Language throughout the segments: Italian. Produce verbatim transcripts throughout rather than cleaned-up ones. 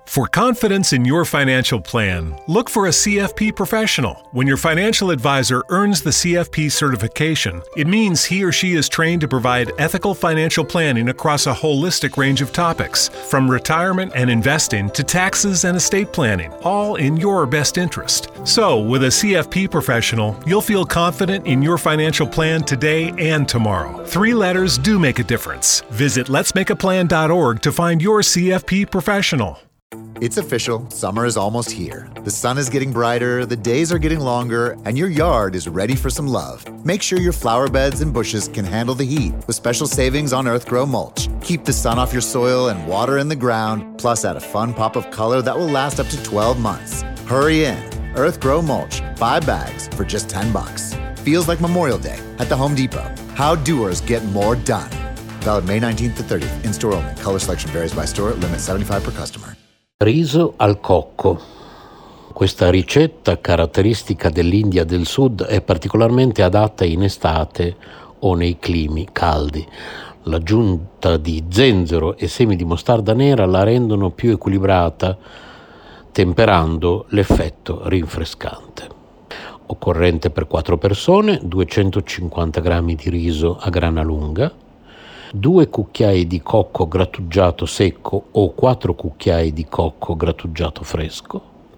For confidence in your financial plan, look for a C F P professional. When your financial advisor earns the C F P certification, it means he or she is trained to provide ethical financial planning across a holistic range of topics, from retirement and investing to taxes and estate planning, all in your best interest. So, with a C F P professional, you'll feel confident in your financial plan today and tomorrow. Three letters do make a difference. Visit lets make a plan dot org to find your C F P professional. It's official, summer is almost here. The sun is getting brighter, the days are getting longer, and your yard is ready for some love. Make sure your flower beds and bushes can handle the heat with special savings on Earthgrow mulch. Keep the sun off your soil and water in the ground, plus add a fun pop of color that will last up to twelve months. Hurry in. Earthgrow mulch, five bags for just ten bucks. Feels like Memorial Day at the Home Depot. How doers get more done. Valid May nineteenth to thirtieth. In-store only. Color selection varies by store. Limit seventy-five per customer. Riso al cocco. Questa ricetta caratteristica dell'India del Sud è particolarmente adatta in estate o nei climi caldi. L'aggiunta di zenzero e semi di mostarda nera la rendono più equilibrata, temperando l'effetto rinfrescante. Occorrente per quattro persone: duecentocinquanta grammi di riso a grana lunga, due cucchiai di cocco grattugiato secco o quattro cucchiai di cocco grattugiato fresco,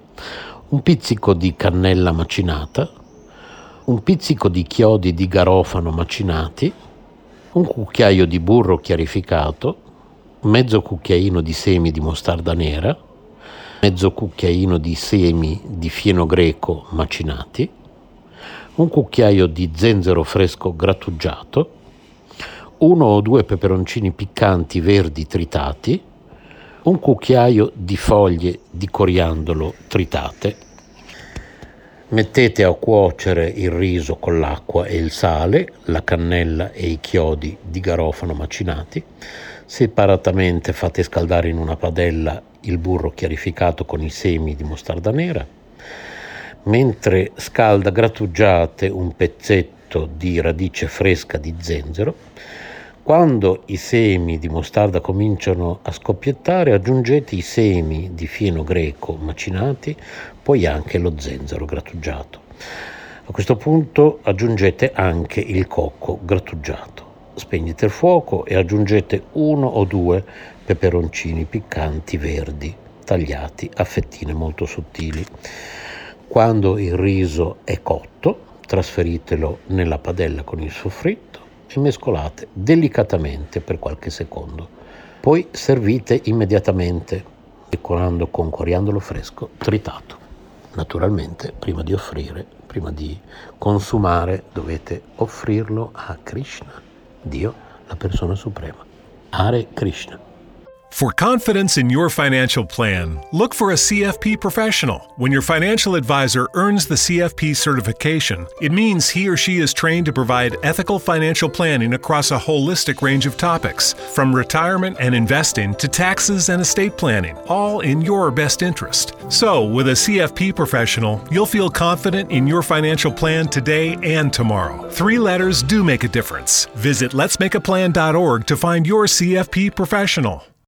un pizzico di cannella macinata, un pizzico di chiodi di garofano macinati, un cucchiaio di burro chiarificato, mezzo cucchiaino di semi di mostarda nera, mezzo cucchiaino di semi di fieno greco macinati, un cucchiaio di zenzero fresco grattugiato, uno o due peperoncini piccanti verdi tritati, un cucchiaio di foglie di coriandolo tritate. Mettete a cuocere il riso con l'acqua e il sale, la cannella e i chiodi di garofano macinati. Separatamente fate scaldare in una padella il burro chiarificato con i semi di mostarda nera. Mentre scalda grattugiate un pezzetto di radice fresca di zenzero. Quando i semi di mostarda cominciano a scoppiettare, aggiungete i semi di fieno greco macinati, poi anche lo zenzero grattugiato. A questo punto aggiungete anche il cocco grattugiato. Spegnete il fuoco e aggiungete uno o due peperoncini piccanti verdi, tagliati a fettine molto sottili. Quando il riso è cotto, trasferitelo nella padella con il soffritto e mescolate delicatamente per qualche secondo. Poi servite immediatamente, decorando con coriandolo fresco tritato. Naturalmente, prima di offrire, prima di consumare, dovete offrirlo a Krishna, Dio, la persona suprema. Hare Krishna. For confidence in your financial plan, look for a C F P professional. When your financial advisor earns the C F P certification, it means he or she is trained to provide ethical financial planning across a holistic range of topics, from retirement and investing to taxes and estate planning, all in your best interest. So, with a C F P professional, you'll feel confident in your financial plan today and tomorrow. Three letters do make a difference. Visit lets make a plan dot org to find your C F P professional.